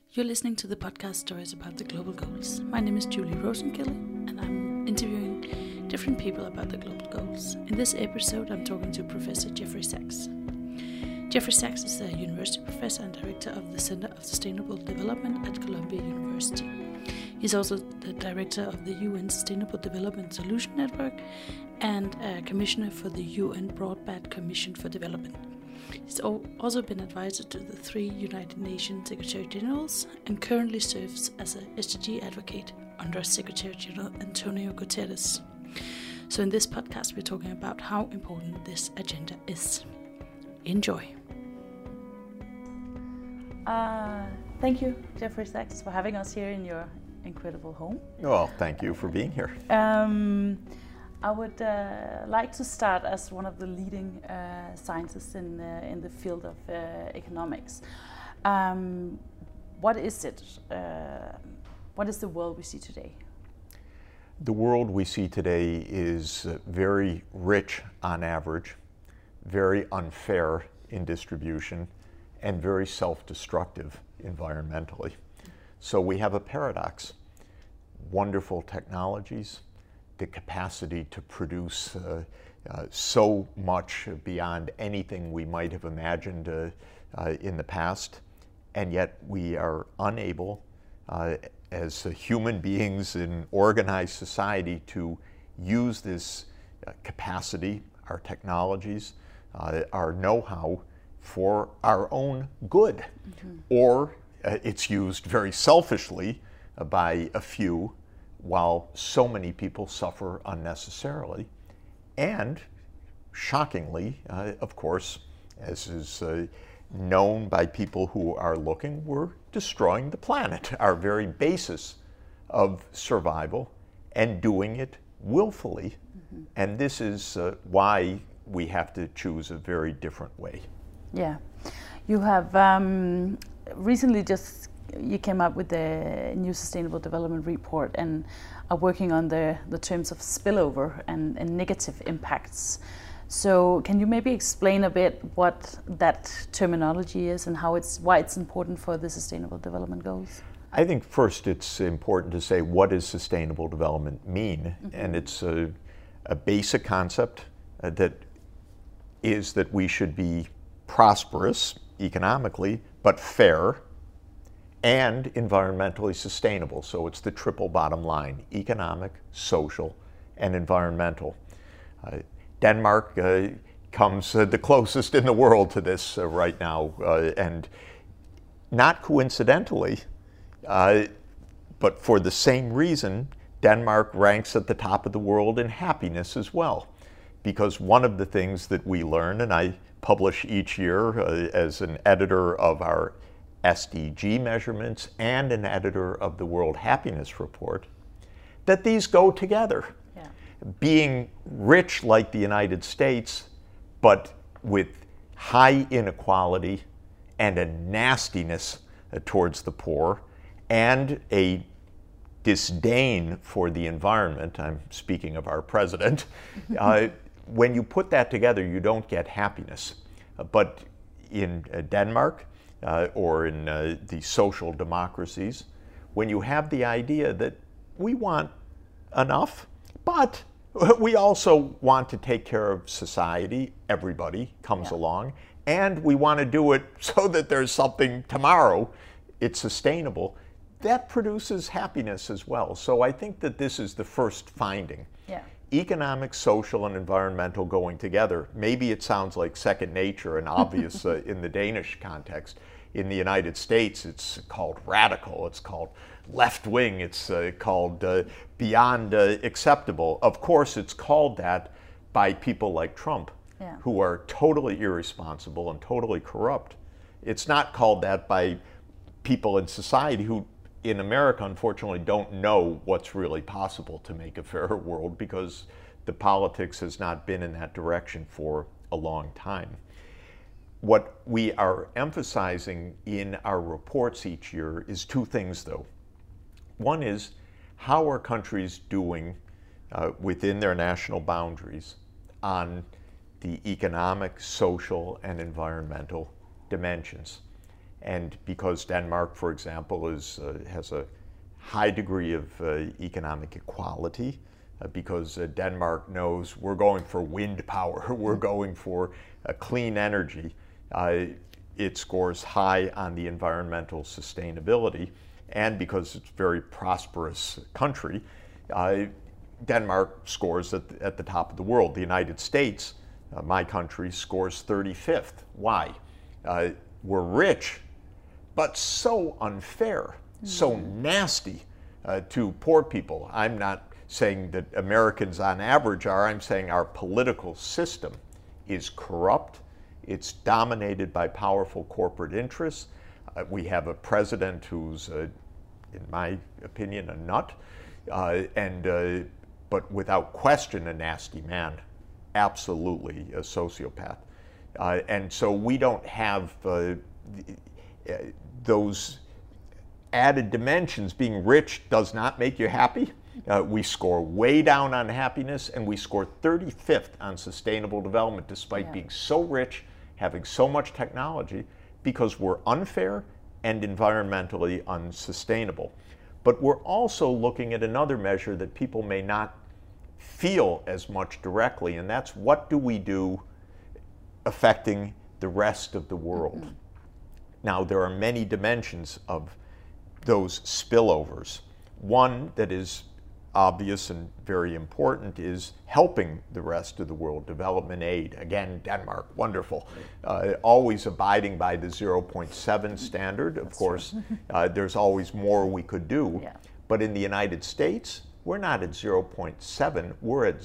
You're listening to the podcast Stories About the Global Goals. My name is Julie Rosenkilde, and I'm interviewing different people about the global goals. In this episode, I'm talking to Professor Jeffrey Sachs. Jeffrey Sachs is a university professor and director of the Center of Sustainable Development at Columbia University. He's also the director of the UN Sustainable Development Solution Network and a commissioner for the UN Broadband Commission for Development. He's also been advisor to the 3 United Nations Secretary Generals and currently serves as a SDG advocate under Secretary General Antonio Guterres. So in this podcast, we're talking about how important this agenda is. Enjoy. Thank you, Jeffrey Sachs, for having us here in your incredible home. Well, thank you for being here. I would like to start as one of the leading scientists in the field of economics. What is it? What is the world we see today? The world we see today is very rich on average, very unfair in distribution, and very self-destructive environmentally. So we have a paradox. Wonderful technologies, the capacity to produce so much beyond anything we might have imagined in the past, and yet we are unable as human beings in organized society to use this capacity, our technologies, our know-how for our own good. Mm-hmm. Or it's used very selfishly by a few, while so many people suffer unnecessarily. And shockingly, of course, as is known by people who are looking, we're destroying the planet, our very basis of survival, and doing it willfully. Mm-hmm. And this is why we have to choose a very different way. Yeah. You have recently you came up with the new Sustainable Development Report and are working on the terms of spillover and negative impacts. So can you maybe explain a bit what that terminology is and why it's important for the Sustainable Development Goals? I think first it's important to say, what does sustainable development mean? Mm-hmm. And it's a basic concept that we should be prosperous economically, but fair and environmentally sustainable. So it's the triple bottom line: economic, social, and environmental. Denmark comes the closest in the world to this right now, and not coincidentally, but for the same reason, Denmark ranks at the top of the world in happiness as well. Because one of the things that we learn, and I publish each year as an editor of our SDG measurements and an editor of the World Happiness Report, that these go together. Yeah. Being rich like the United States, but with high inequality and a nastiness towards the poor and a disdain for the environment, I'm speaking of our president, when you put that together, you don't get happiness. But in Denmark, or in the social democracies, when you have the idea that we want enough, but we also want to take care of society, everybody comes along, and we want to do it so that there's something tomorrow, it's sustainable, that produces happiness as well. So I think that this is the first finding. Yeah. Economic, social, and environmental going together. Maybe it sounds like second nature and obvious in the Danish context. In the United States, it's called radical, it's called left-wing, it's called beyond acceptable. Of course, it's called that by people like Trump, who are totally irresponsible and totally corrupt. It's not called that by people in society who, in America, unfortunately, don't know what's really possible to make a fairer world, because the politics has not been in that direction for a long time. What we are emphasizing in our reports each year is 2 things, though. One is, how are countries doing within their national boundaries on the economic, social, and environmental dimensions? And because Denmark, for example, has a high degree of economic equality, because Denmark knows we're going for wind power, we're going for clean energy, it scores high on the environmental sustainability. And because it's a very prosperous country, Denmark scores at the top of the world. The United States, my country, scores 35th. Why? We're rich, but so unfair, so nasty to poor people. I'm not saying that Americans on average are, I'm saying our political system is corrupt. It's dominated by powerful corporate interests. We have a president who's, in my opinion, a nut, but without question a nasty man, absolutely a sociopath. And so we don't have those added dimensions. Being rich does not make you happy. We score way down on happiness, and we score 35th on sustainable development despite being so rich, having so much technology, because we're unfair and environmentally unsustainable. But we're also looking at another measure that people may not feel as much directly, and that's what do we do affecting the rest of the world. Now, there are many dimensions of those spillovers. One that is obvious and very important is helping the rest of the world, development aid. Again, Denmark, wonderful. Always abiding by the 0.7 standard. Of course, there's always more we could do. But in the United States, we're not at 0.7, we're at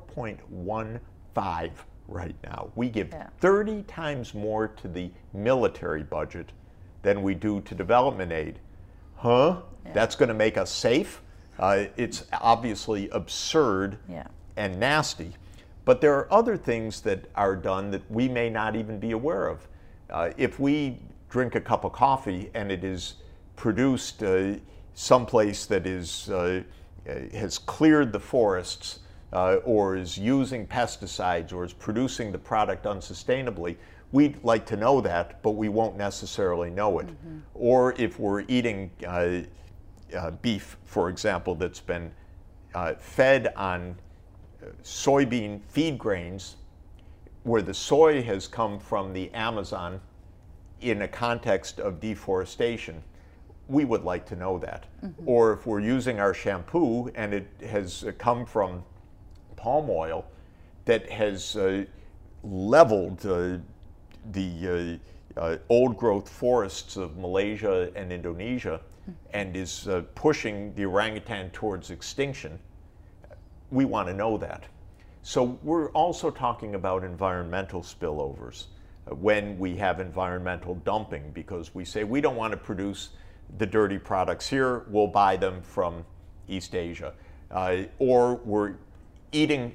0.15 right now. We give 30 times more to the military budget than we do to development aid. That's going to make us safe? It's obviously absurd and nasty. But there are other things that are done that we may not even be aware of. If we drink a cup of coffee and it is produced someplace that has cleared the forests, or is using pesticides, or is producing the product unsustainably, we'd like to know that, but we won't necessarily know it. Or if we're eating beef, for example, that's been fed on soybean feed grains, where the soy has come from the Amazon in a context of deforestation, we would like to know that. Or if we're using our shampoo and it has come from palm oil that has leveled the old growth forests of Malaysia and Indonesia and is pushing the orangutan towards extinction, we want to know that. So we're also talking about environmental spillovers when we have environmental dumping, because we say we don't want to produce the dirty products here, we'll buy them from East Asia. Or we're eating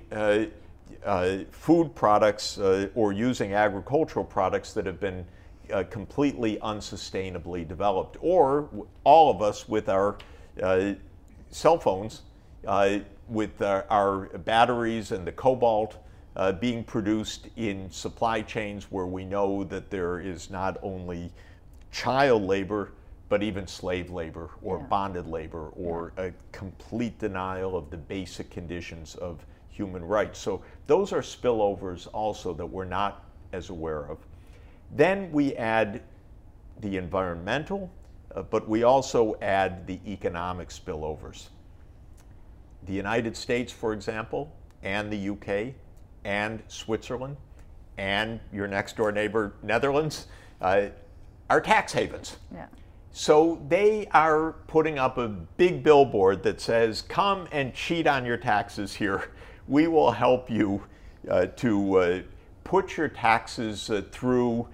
food products or using agricultural products that have been completely unsustainably developed. Or all of us with our cell phones, with our batteries and the cobalt being produced in supply chains where we know that there is not only child labor, but even slave labor or bonded labor or a complete denial of the basic conditions of human rights. So those are spillovers also that we're not as aware of. Then we add the environmental, but we also add the economic spillovers. The United States, for example, and the UK, and Switzerland, and your next door neighbor, Netherlands, are tax havens. So they are putting up a big billboard that says, come and cheat on your taxes here. We will help you to put your taxes through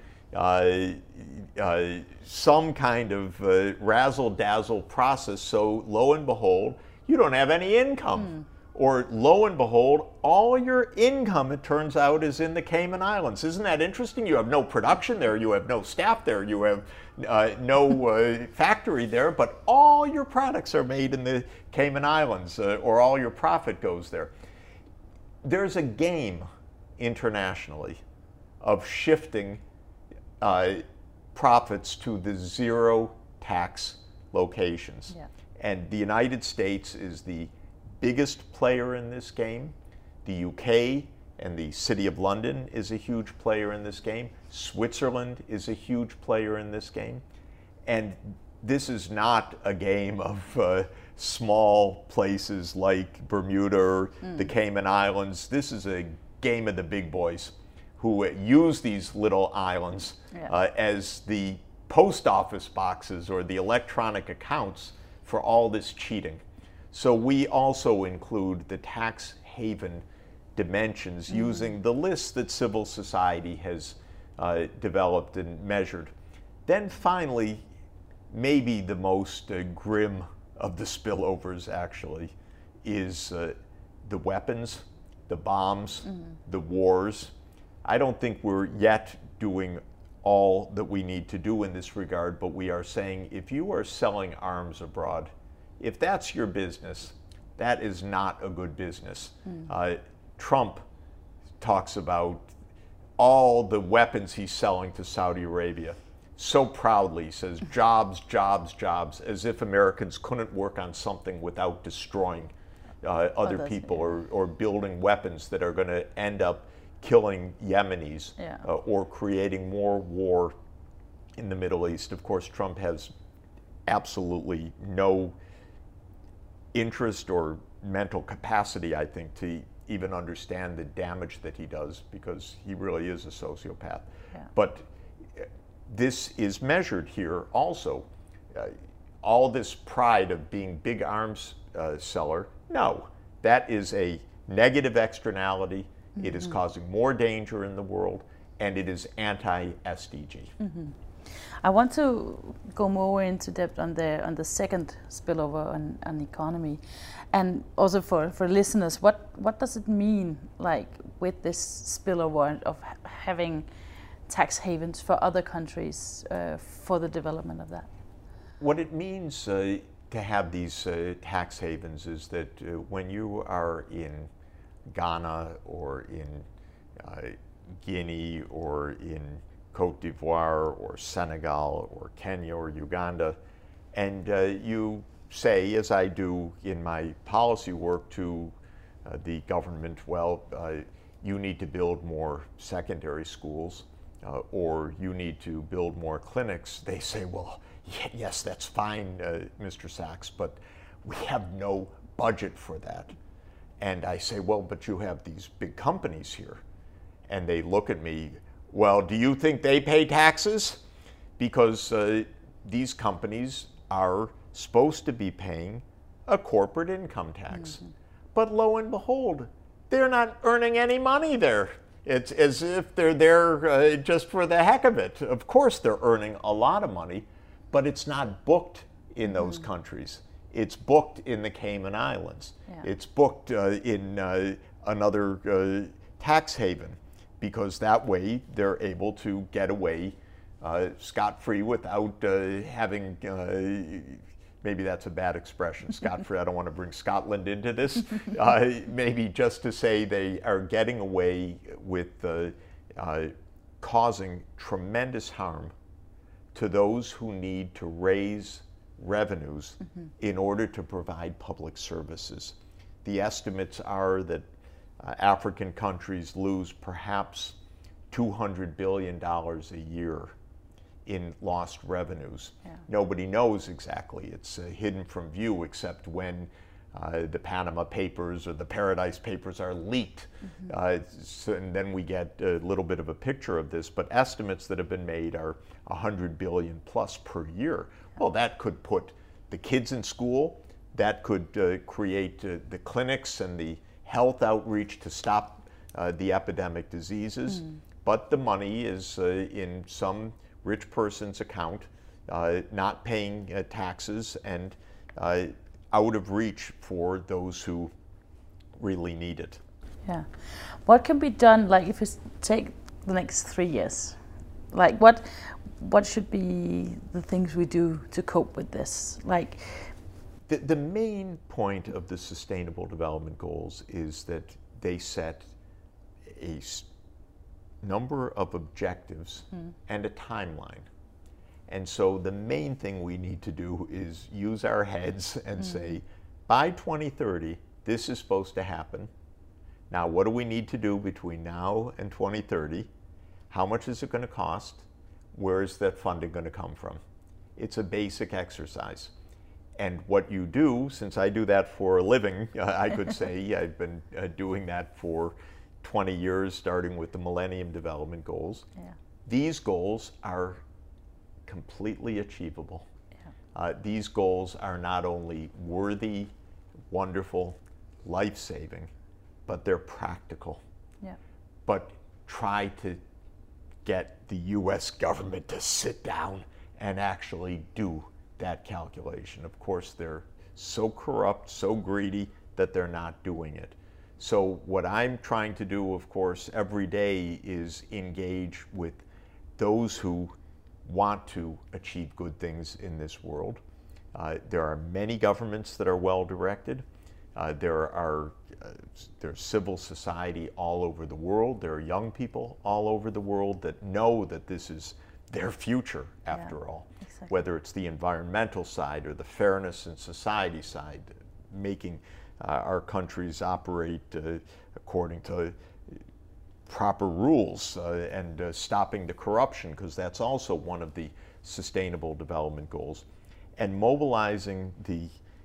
some kind of razzle-dazzle process, so lo and behold, you don't have any income. Or lo and behold, all your income, it turns out, is in the Cayman Islands. Isn't that interesting? You have no production there, you have no staff there, you have no factory there, but all your products are made in the Cayman Islands, or all your profit goes there. There's a game internationally of shifting profits to the zero tax locations. Yeah. And the United States is the biggest player in this game. The UK and the City of London is a huge player in this game. Switzerland is a huge player in this game. And this is not a game of small places like Bermuda or the Cayman Islands. This is a game of the big boys who use these little islands as the post office boxes or the electronic accounts for all this cheating. So we also include the tax haven dimensions using the list that civil society has developed and measured. Then finally, maybe the most grim of the spillovers actually is the weapons, the bombs, the wars. I don't think we're yet doing all that we need to do in this regard, but we are saying if you are selling arms abroad, if that's your business, that is not a good business. Trump talks about all the weapons he's selling to Saudi Arabia. So proudly, he says jobs, jobs, jobs, as if Americans couldn't work on something without destroying other people or building weapons that are going to end up killing Yemenis or creating more war in the Middle East. Of course, Trump has absolutely no interest or mental capacity, I think, to even understand the damage that he does, because he really is a sociopath. But this is measured here also. All this pride of being big arms seller, no, that is a negative externality. It is causing more danger in the world, and it is anti-SDG. I want to go more into depth on the second spillover on economy, and also for listeners, what does it mean, like, with this spillover of having tax havens for other countries for the development of that? What it means to have these tax havens is that when you are in Ghana or in Guinea or in Cote d'Ivoire or Senegal or Kenya or Uganda, and you say, as I do in my policy work, to the government, well, you need to build more secondary schools or you need to build more clinics. They say, well, yes, that's fine, Mr. Sachs, but we have no budget for that. And I say, well, but you have these big companies here. And they look at me, well, do you think they pay taxes? Because these companies are supposed to be paying a corporate income tax. But lo and behold, they're not earning any money there. It's as if they're there just for the heck of it. Of course they're earning a lot of money, but it's not booked in those countries. It's booked in the Cayman Islands. It's booked in another tax haven, because that way they're able to get away scot-free without having, maybe that's a bad expression, scot-free, I don't want to bring Scotland into this, maybe just to say they are getting away with causing tremendous harm to those who need to raise revenues in order to provide public services. The estimates are that African countries lose perhaps $200 billion a year in lost revenues. Nobody knows exactly. It's hidden from view, except when the Panama Papers or the Paradise Papers are leaked. And then we get a little bit of a picture of this, but estimates that have been made are 100 billion plus per year. Well, that could put the kids in school, that could create the clinics and the health outreach to stop the epidemic diseases, but the money is in some rich person's account, not paying taxes, and out of reach for those who really need it. Yeah. What can be done, like, if you take the next 3 years? Like, what should be the things we do to cope with this? Like, the main point of the Sustainable Development Goals is that they set a number of objectives and a timeline. And so the main thing we need to do is use our heads and say, by 2030, this is supposed to happen. Now, what do we need to do between now and 2030? How much is it going to cost? Where is that funding going to come from? It's a basic exercise. And what you do, since I do that for a living, I could say I've been doing that for 20 years, starting with the Millennium Development Goals. Yeah. These goals are completely achievable. Yeah. These goals are not only worthy, wonderful, life-saving, but they're practical. Yeah. But try to get the U.S. government to sit down and actually do that calculation. Of course, they're so corrupt, so greedy that they're not doing it. So what I'm trying to do, of course, every day is engage with those who want to achieve good things in this world. There are many governments that are well-directed. There's civil society all over the world. There are young people all over the world that know that this is their future, after all. Exactly. Whether it's the environmental side or the fairness in society side, making our countries operate according to proper rules and stopping the corruption, because that's also one of the Sustainable Development Goals, and mobilizing the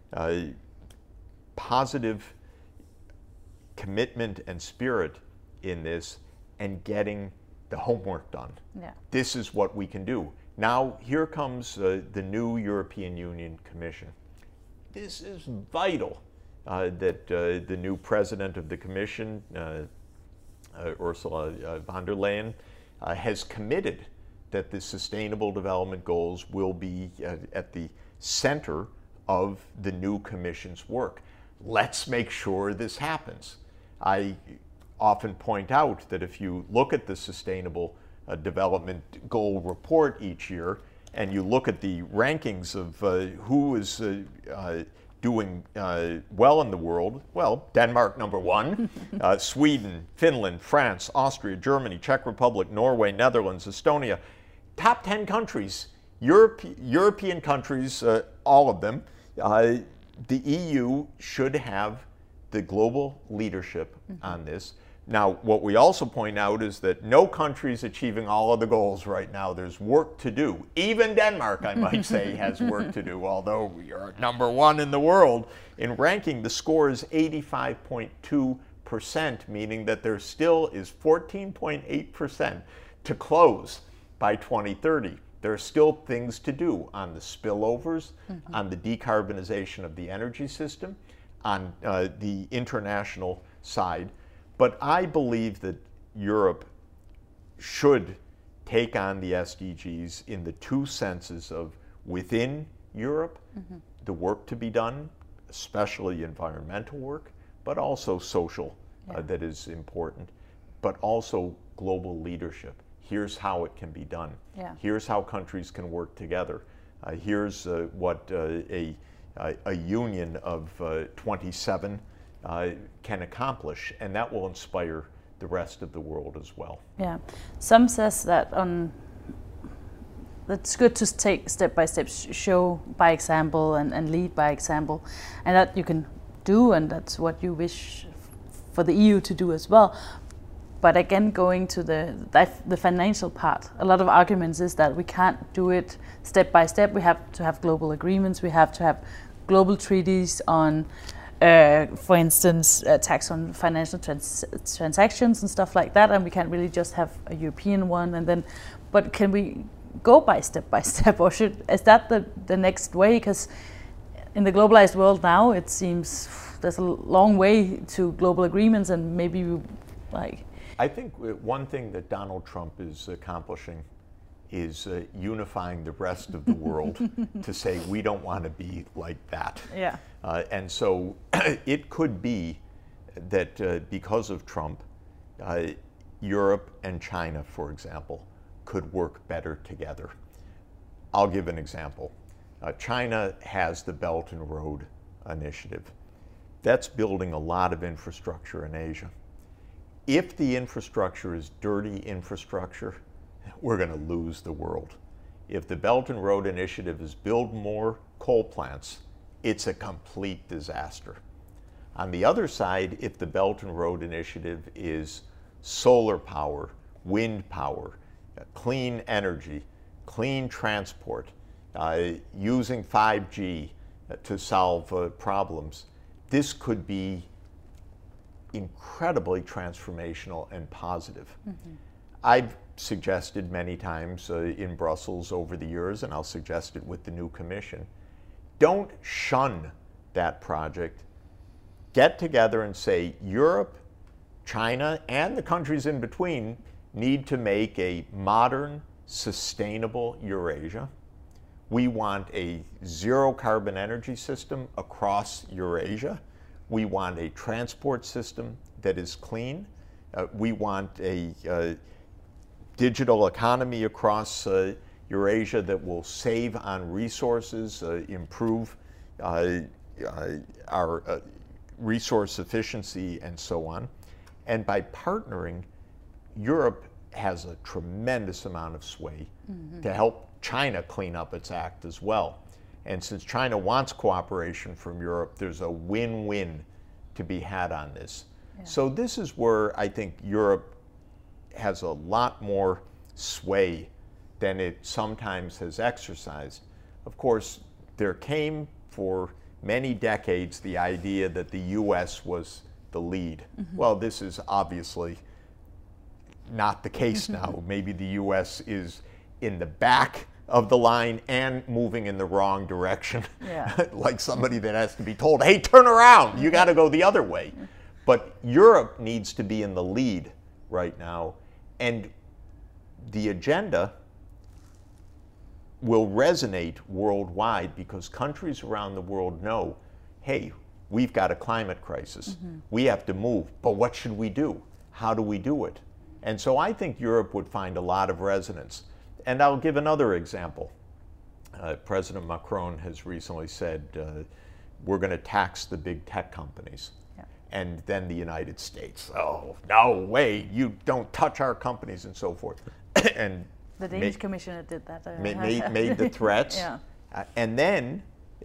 positive commitment and spirit in this and getting the homework done. Yeah. This is what we can do. Now, here comes the new European Union Commission. This is vital that the new president of the Commission, Ursula von der Leyen, has committed that the Sustainable Development Goals will be at the center of the new Commission's work. Let's make sure this happens. I often point out that if you look at the Sustainable Development Goal report each year, and you look at the rankings of who is doing well in the world, well, Denmark -- 1, Sweden, Finland, France, Austria, Germany, Czech Republic, Norway, Netherlands, Estonia, top 10 countries, European countries, all of them. The EU should have the global leadership on this. Now, what we also point out is that no country is achieving all of the goals right now. There's work to do. Even Denmark, I might say, has work to do, although we are number 1 in the world. In ranking, the score is 85.2%, meaning that there still is 14.8% to close by 2030. There are still things to do on the spillovers, on the decarbonization of the energy system, on the international side. But I believe that Europe should take on the SDGs in the two senses of within Europe, the work to be done, especially environmental work, but also social, that is important, but also global leadership. Here's how it can be done. Yeah. Here's how countries can work together. Here's what a union of 27 can accomplish, and that will inspire the rest of the world as well. Yeah, some says that it's good to take step by step, show by example and lead by example, and that you can do, and that's what you wish for the EU to do as well. But again, going to the financial part, a lot of arguments is that we can't do it step by step. We have to have global agreements. We have to have global treaties on, for instance, tax on financial transactions and stuff like that. And we can't really just have a European one. And then, but can we go by step, or is that the next way? Because in the globalized world now, it seems there's a long way to global agreements, and maybe I think one thing that Donald Trump is accomplishing is unifying the rest of the world to say we don't want to be like that. Yeah. And so it could be that because of Trump, Europe and China, for example, could work better together. I'll give an example. China has the Belt and Road Initiative. That's building a lot of infrastructure in Asia. If the infrastructure is dirty infrastructure, we're going to lose the world. If the Belt and Road Initiative is build more coal plants, it's a complete disaster. On the other side, if the Belt and Road Initiative is solar power, wind power, clean energy, clean transport, using 5G to solve problems, this could be incredibly transformational and positive. I've suggested many times in Brussels over the years, and I'll suggest it with the new commission, don't shun that project. Get together and say Europe, China, and the countries in between need to make a modern, sustainable Eurasia. We want a zero carbon energy system across Eurasia. We want a transport system that is clean. We want a digital economy across Eurasia that will save on resources, improve our resource efficiency, and so on. And by partnering, Europe has a tremendous amount of sway to help China clean up its act as well. And since China wants cooperation from Europe, there's a win-win to be had on this. Yeah. So this is where I think Europe has a lot more sway than it sometimes has exercised. Of course, there came for many decades the idea that the US was the lead. Well, this is obviously not the case now. Maybe the US is in the back of the line and moving in the wrong direction. Yeah. Like somebody that has to be told, hey, turn around, you got to go the other way. But Europe needs to be in the lead right now. And the agenda will resonate worldwide because countries around the world know, hey, we've got a climate crisis. We have to move. But what should we do? How do we do it? And so I think Europe would find a lot of resonance. And I'll give another example. President Macron has recently said, we're going to tax the big tech companies. Yeah. And then the United States, oh, no way, you don't touch our companies and so forth. And the Danish commissioner did that. Made the threats. Yeah. And then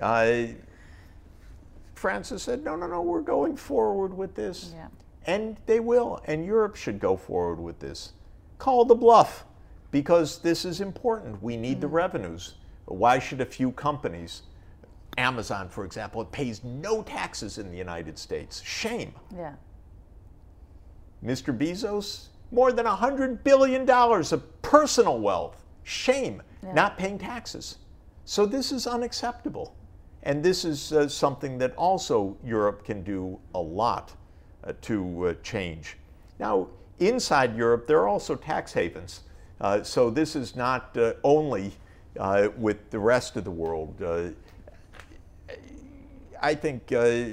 France has said, no, we're going forward with this. Yeah. And they will. And Europe should go forward with this. Call the bluff, because this is important. We need the revenues. Why should a few companies, Amazon, for example, it pays no taxes in the United States. Shame. Yeah. Mr. Bezos, more than $100 billion of personal wealth. Shame. Yeah. Not paying taxes. So this is unacceptable. And this is something that also Europe can do a lot to change. Now, inside Europe, there are also tax havens. So this is not only with the rest of the world. I think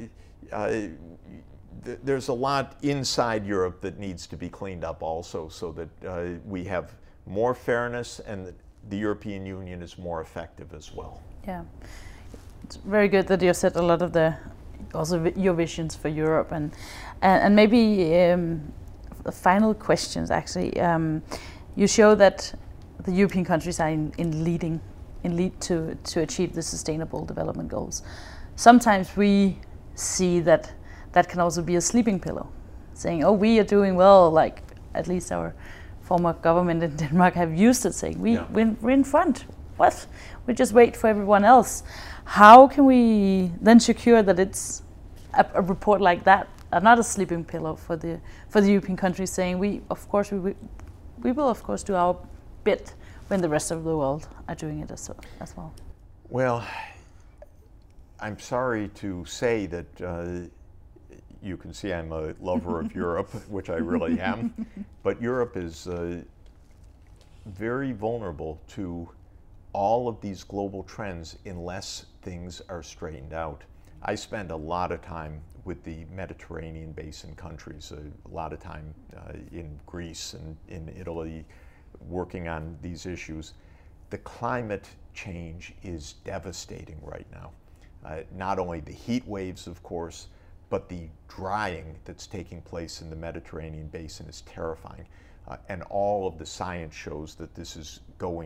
there's a lot inside Europe that needs to be cleaned up also, so that we have more fairness and that the European Union is more effective as well. Yeah, it's very good that you said a lot of your visions for Europe, and maybe final questions actually. You show that the European countries are in lead to achieve the Sustainable Development Goals. Sometimes we see that can also be a sleeping pillow, saying, "Oh, we are doing well." Like at least our former government in Denmark have used it, saying, "We're in front. What? We just wait for everyone else." How can we then secure that it's a report like that, not a sleeping pillow for the European countries, saying, "We will of course do our bit when the rest of the world are doing it as well"? Well, I'm sorry to say that you can see I'm a lover of Europe, which I really am, but Europe is very vulnerable to all of these global trends unless things are straightened out. I spend a lot of time with the Mediterranean basin countries, a lot of time in Greece and in Italy working on these issues. The climate change is devastating right now. Not only the heat waves, of course, but the drying that's taking place in the Mediterranean basin is terrifying. And all of the science shows that this is going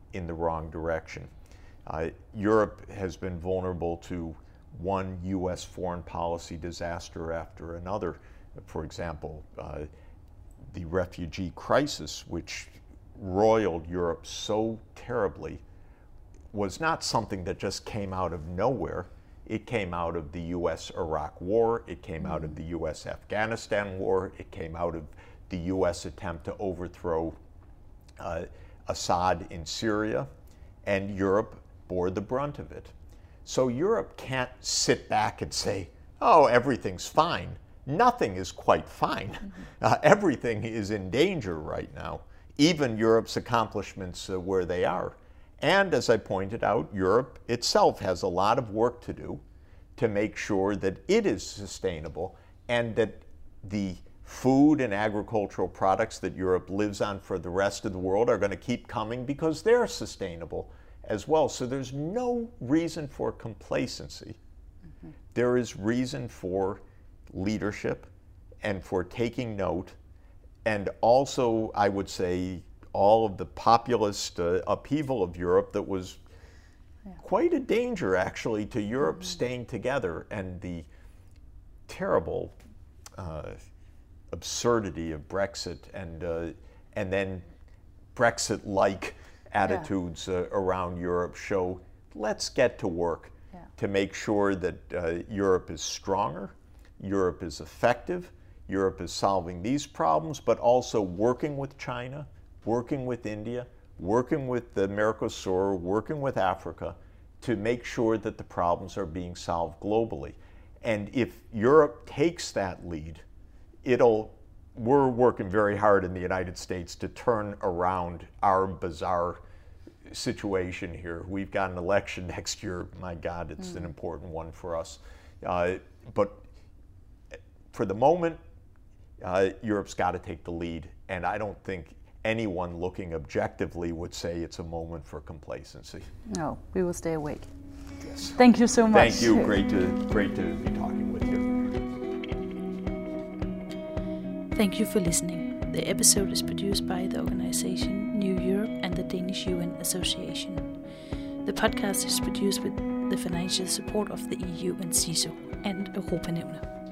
in the wrong direction. Europe has been vulnerable to one U.S. foreign policy disaster after another. For example, the refugee crisis, which roiled Europe so terribly, was not something that just came out of nowhere. It came out of the U.S.-Iraq war, it came out of the U.S.-Afghanistan war, it came out of the U.S. attempt to overthrow Assad in Syria, and Europe bore the brunt of it. So Europe can't sit back and say, oh, everything's fine. Nothing is quite fine. Everything is in danger right now, even Europe's accomplishments where they are. And as I pointed out, Europe itself has a lot of work to do to make sure that it is sustainable and that the food and agricultural products that Europe lives on for the rest of the world are going to keep coming because they're sustainable as well. So there's no reason for complacency. There is reason for leadership and for taking note, and also, I would say, all of the populist upheaval of Europe that was quite a danger, actually, to Europe staying together, and the terrible absurdity of Brexit and then Brexit-like attitudes around Europe show, let's get to work to make sure that Europe is stronger, Europe is effective, Europe is solving these problems, but also working with China, working with India, working with the Mercosur, working with Africa to make sure that the problems are being solved globally. And if Europe takes that lead, we're working very hard in the United States to turn around our bizarre situation here. We've got an election next year. My God, it's an important one for us. But for the moment, Europe's got to take the lead. And I don't think anyone looking objectively would say it's a moment for complacency. No, we will stay awake. Yes. Thank you so much. Thank you. Great to be talking with you. Thank you for listening. The episode is produced by the organization New Europe and the Danish UN Association. The podcast is produced with the financial support of the EU and CISO and Europanævnet.